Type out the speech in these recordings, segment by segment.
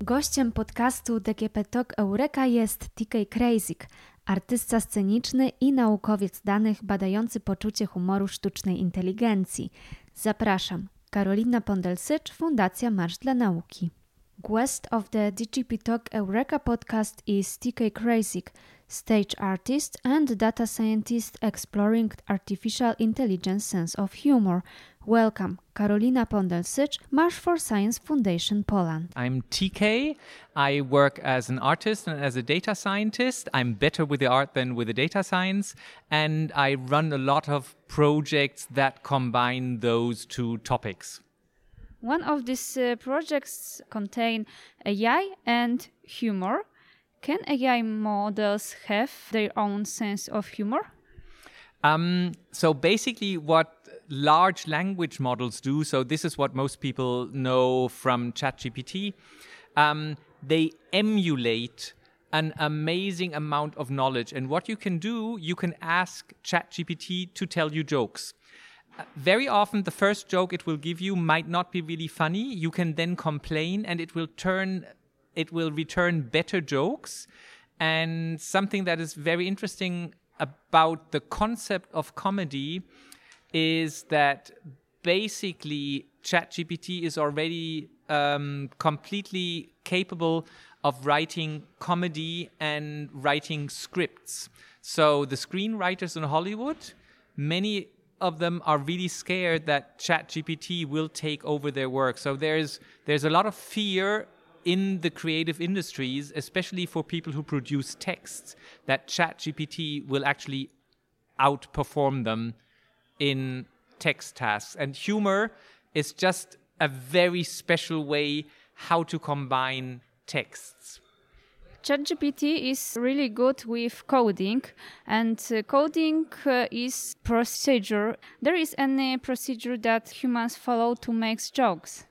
Gościem podcastu DGP Talk Eureka jest TK Krejzik, artysta sceniczny i naukowiec danych badający poczucie humoru sztucznej inteligencji. Zapraszam, Karolina Pondel-Sycz, Fundacja Marsz dla Nauki. Guest of the DGP Talk Eureka podcast is TK Krejzik, stage artist and data scientist exploring artificial intelligence sense of humor. Welcome, Karolina Pondel-Sycz, Marsz for Science Foundation Poland. I'm TK. I work as an artist and as a data scientist. I'm better with the art than with the data science. And I run a lot of projects that combine those two topics. One of these projects contain AI and humor. Can AI models have their own sense of humor? So basically what large language models do, so this is what most people know from ChatGPT, they emulate an amazing amount of knowledge. And what you can do, you can ask ChatGPT to tell you jokes. Very often, the first joke it will give you might not be really funny. You can then complain and it will return better jokes. And something that is very interesting about the concept of comedy is that basically ChatGPT is already completely capable of writing comedy and writing scripts. So the screenwriters in Hollywood, many of them are really scared that ChatGPT will take over their work. So there's a lot of fear in the creative industries, especially for people who produce texts, that ChatGPT will actually outperform them in text tasks. And humor is just a very special way how to combine texts. ChatGPT is really good with coding, and coding is procedure. There is any procedure that humans follow to make jokes?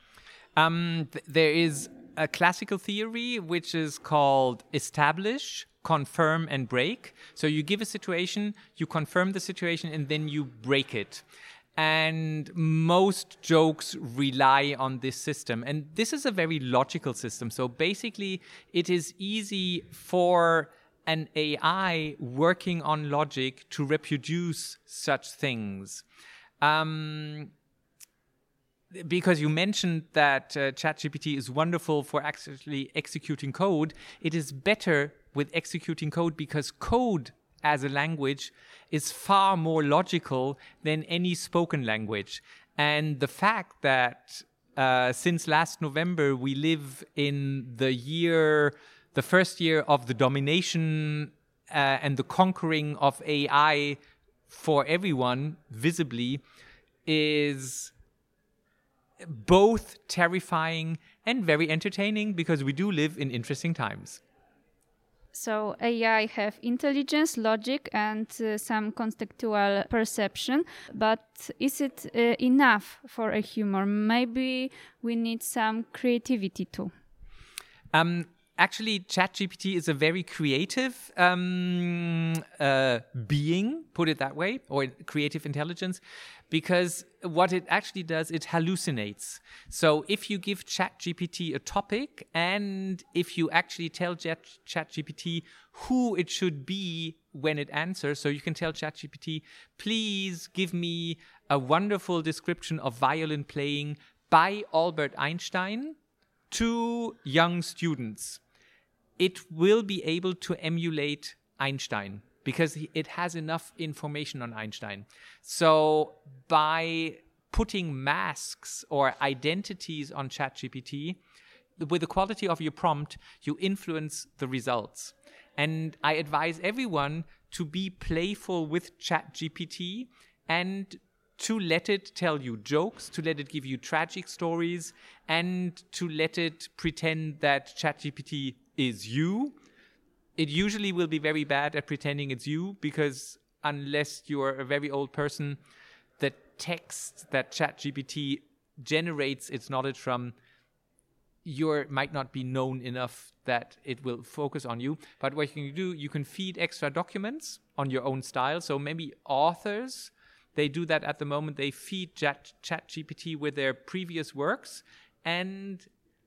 There is a classical theory which is called establish, confirm, and break. So you give a situation, you confirm the situation, and then you break it. And most jokes rely on this system. And this is a very logical system. So basically, it is easy for an AI working on logic to reproduce such things. Because you mentioned that ChatGPT is wonderful for actually executing code, it is better with executing code because code as a language is far more logical than any spoken language. And the fact that since last November we live in the first year of the domination and the conquering of AI for everyone visibly is both terrifying and very entertaining because we do live in interesting times. So AI have intelligence, logic, and some contextual perception. But is it enough for a humor? Maybe we need some creativity too. Actually, ChatGPT is a very creative being, put it that way, or creative intelligence, because what it actually does, it hallucinates. So if you give ChatGPT a topic and if you actually tell ChatGPT who it should be when it answers, so you can tell ChatGPT, please give me a wonderful description of violin playing by Albert Einstein to young students. It will be able to emulate Einstein because it has enough information on Einstein. So by putting masks or identities on ChatGPT, with the quality of your prompt, you influence the results. And I advise everyone to be playful with ChatGPT and to let it tell you jokes, to let it give you tragic stories, and to let it pretend that ChatGPT is you. It usually will be very bad at pretending it's you because unless you're a very old person, the text that ChatGPT generates its knowledge from might not be known enough that it will focus on you. But what you can do, you can feed extra documents on your own style. So maybe authors, they do that at the moment. They feed ChatGPT with their previous works, and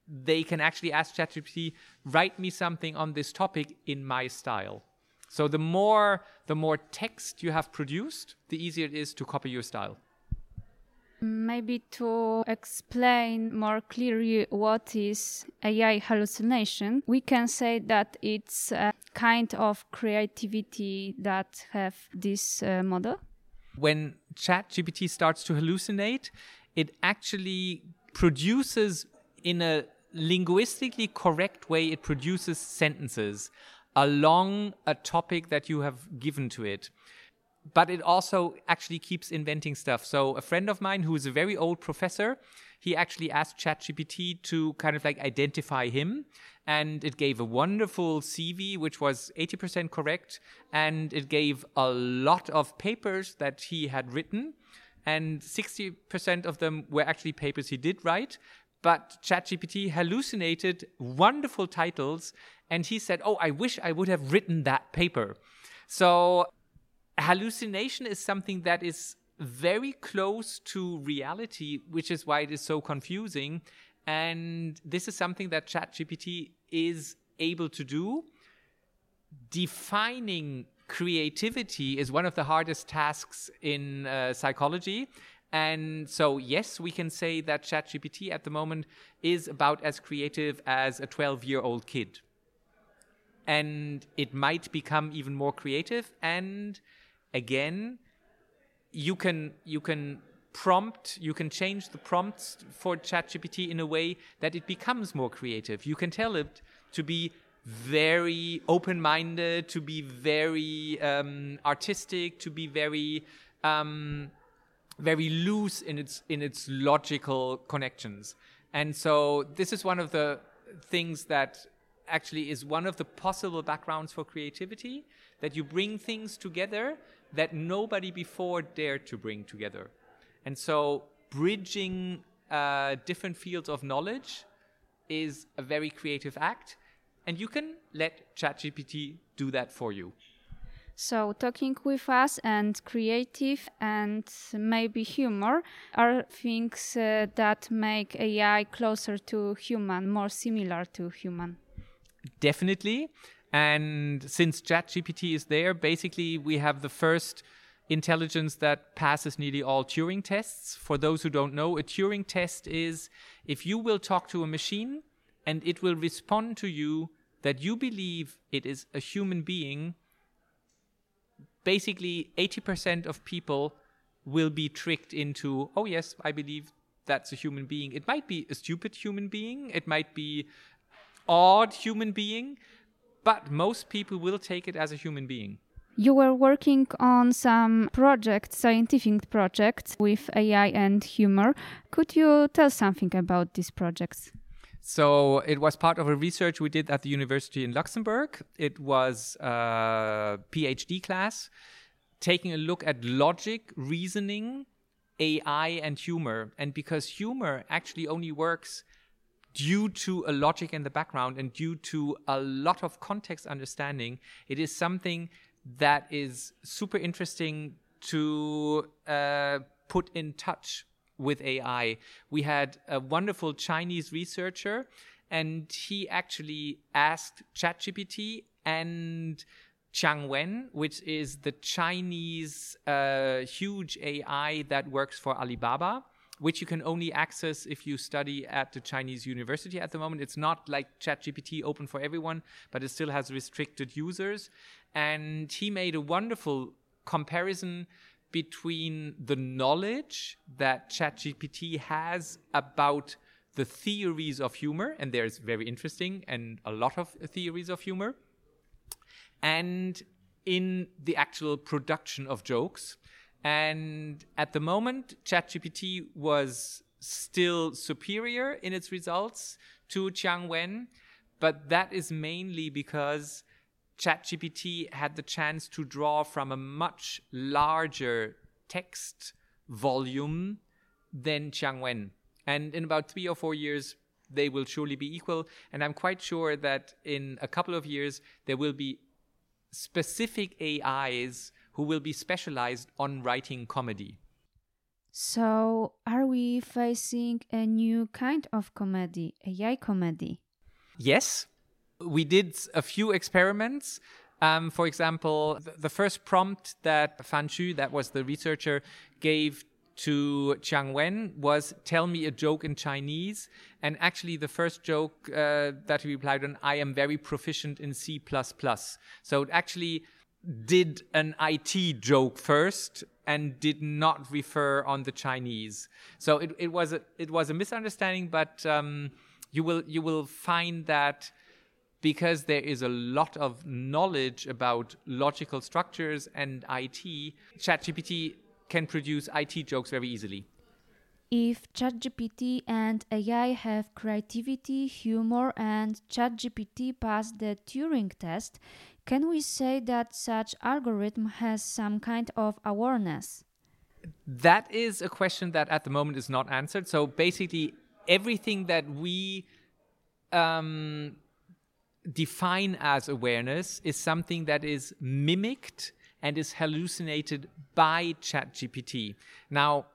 they can actually ask ChatGPT, write me something on this topic in my style. So the more text you have produced, the easier it is to copy your style. Maybe to explain more clearly what is AI hallucination, we can say that it's a kind of creativity that have this model. When ChatGPT starts to hallucinate, it actually produces, in a linguistically correct way, it produces sentences along a topic that you have given to it. But it also actually keeps inventing stuff. So a friend of mine who is a very old professor, he actually asked ChatGPT to kind of like identify him. And it gave a wonderful CV, which was 80% correct. And it gave a lot of papers that he had written. And 60% of them were actually papers he did write. But ChatGPT hallucinated wonderful titles. And he said, oh, I wish I would have written that paper. So hallucination is something that is very close to reality, which is why it is so confusing. And this is something that ChatGPT is able to do. Defining creativity is one of the hardest tasks in psychology. And so, yes, we can say that ChatGPT at the moment is about as creative as a 12-year-old kid. And it might become even more creative. And again, you can change the prompts for ChatGPT in a way that it becomes more creative. You can tell it to be very open-minded, to be very artistic, to be very loose in its logical connections. And so this is one of the things that actually is one of the possible backgrounds for creativity, that you bring things together that nobody before dared to bring together. And so bridging different fields of knowledge is a very creative act, and you can let ChatGPT do that for you. So talking with us and creative and maybe humor are things that make AI closer to human, more similar to human. Definitely. And since ChatGPT is there, basically we have the first intelligence that passes nearly all Turing tests. For those who don't know, a Turing test is if you will talk to a machine and it will respond to you that you believe it is a human being, basically 80% of people will be tricked into, oh yes, I believe that's a human being. It might be a stupid human being. It might be odd human being, but most people will take it as a human being. You were working on some projects, scientific projects with AI and humor. Could you tell something about these projects? So it was part of a research we did at the university in Luxembourg. It was a PhD class taking a look at logic, reasoning, AI, and humor. And because humor actually only works due to a logic in the background and due to a lot of context understanding, it is something that is super interesting to put in touch with AI. We had a wonderful Chinese researcher, and he actually asked ChatGPT and Qiang Wen, which is the Chinese huge AI that works for Alibaba, which you can only access if you study at the Chinese university at the moment. It's not like ChatGPT open for everyone, but it still has restricted users. And he made a wonderful comparison between the knowledge that ChatGPT has about the theories of humor, and there's very interesting and a lot of theories of humor, and in the actual production of jokes. And at the moment, ChatGPT was still superior in its results to Qiang Wen, but that is mainly because ChatGPT had the chance to draw from a much larger text volume than Qiang Wen. And in about 3 or 4 years, they will surely be equal. And I'm quite sure that in a couple of years, there will be specific AIs who will be specialized on writing comedy. So, are we facing a new kind of comedy, AI comedy? Yes, we did a few experiments. For example, the first prompt that Fan Xu, that was the researcher, gave to Jiang Wen was, tell me a joke in Chinese. And actually the first joke that he replied on, I am very proficient in C++. So it actually did an IT joke first and did not refer on the Chinese. So it was a misunderstanding, but you will find that because there is a lot of knowledge about logical structures and IT, ChatGPT can produce IT jokes very easily. If ChatGPT and AI have creativity, humor, and ChatGPT passed the Turing test, can we say that such algorithm has some kind of awareness? That is a question that at the moment is not answered. So basically, everything that we define as awareness is something that is mimicked and is hallucinated by ChatGPT. Now,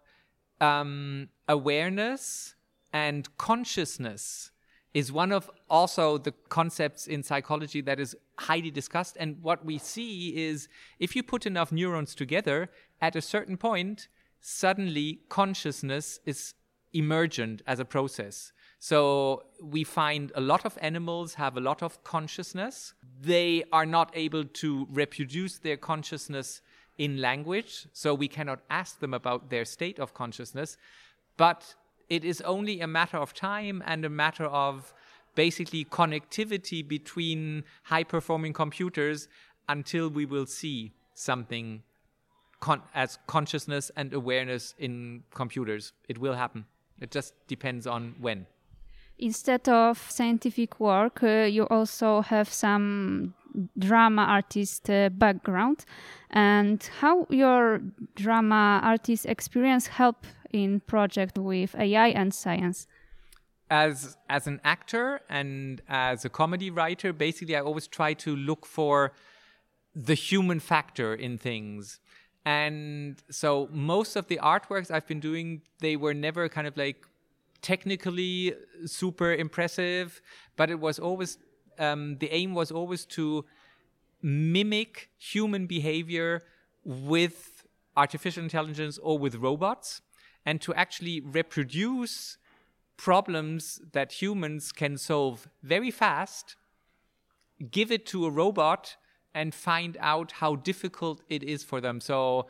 awareness and consciousness is one of also the concepts in psychology that is highly discussed. And what we see is if you put enough neurons together, at a certain point, suddenly consciousness is emergent as a process. So we find a lot of animals have a lot of consciousness. They are not able to reproduce their consciousness in language, so we cannot ask them about their state of consciousness. But it is only a matter of time and a matter of basically connectivity between high-performing computers until we will see something as consciousness and awareness in computers. It will happen. It just depends on when. Instead of scientific work, you also have some drama artist background. And how your drama artist experience help in project with AI and science? As an actor and as a comedy writer, basically I always try to look for the human factor in things. And so most of the artworks I've been doing, they were never kind of like technically super impressive, but it was always the aim was always to mimic human behavior with artificial intelligence or with robots, and to actually reproduce problems that humans can solve very fast, give it to a robot, and find out how difficult it is for them. So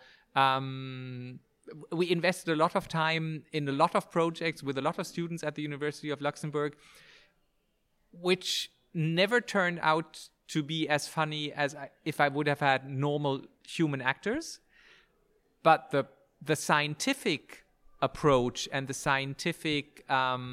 we invested a lot of time in a lot of projects with a lot of students at the University of Luxembourg, which never turned out to be as funny as if I would have had normal human actors. But the scientific approach and the scientific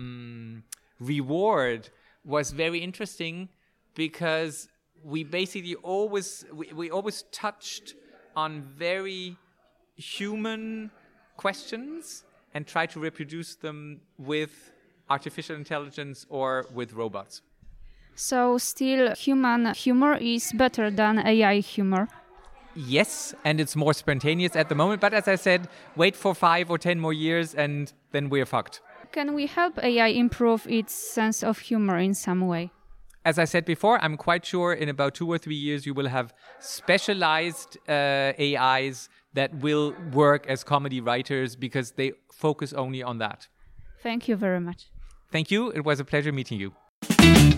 reward was very interesting, because we basically always touched on very human questions and try to reproduce them with artificial intelligence or with robots. So still human humor is better than AI humor? Yes, and it's more spontaneous at the moment. But as I said, wait for 5 or 10 more years and then we're fucked. Can we help AI improve its sense of humor in some way? As I said before, I'm quite sure in about 2 or 3 years you will have specialized AIs that will work as comedy writers because they focus only on that. Thank you very much. Thank you. It was a pleasure meeting you.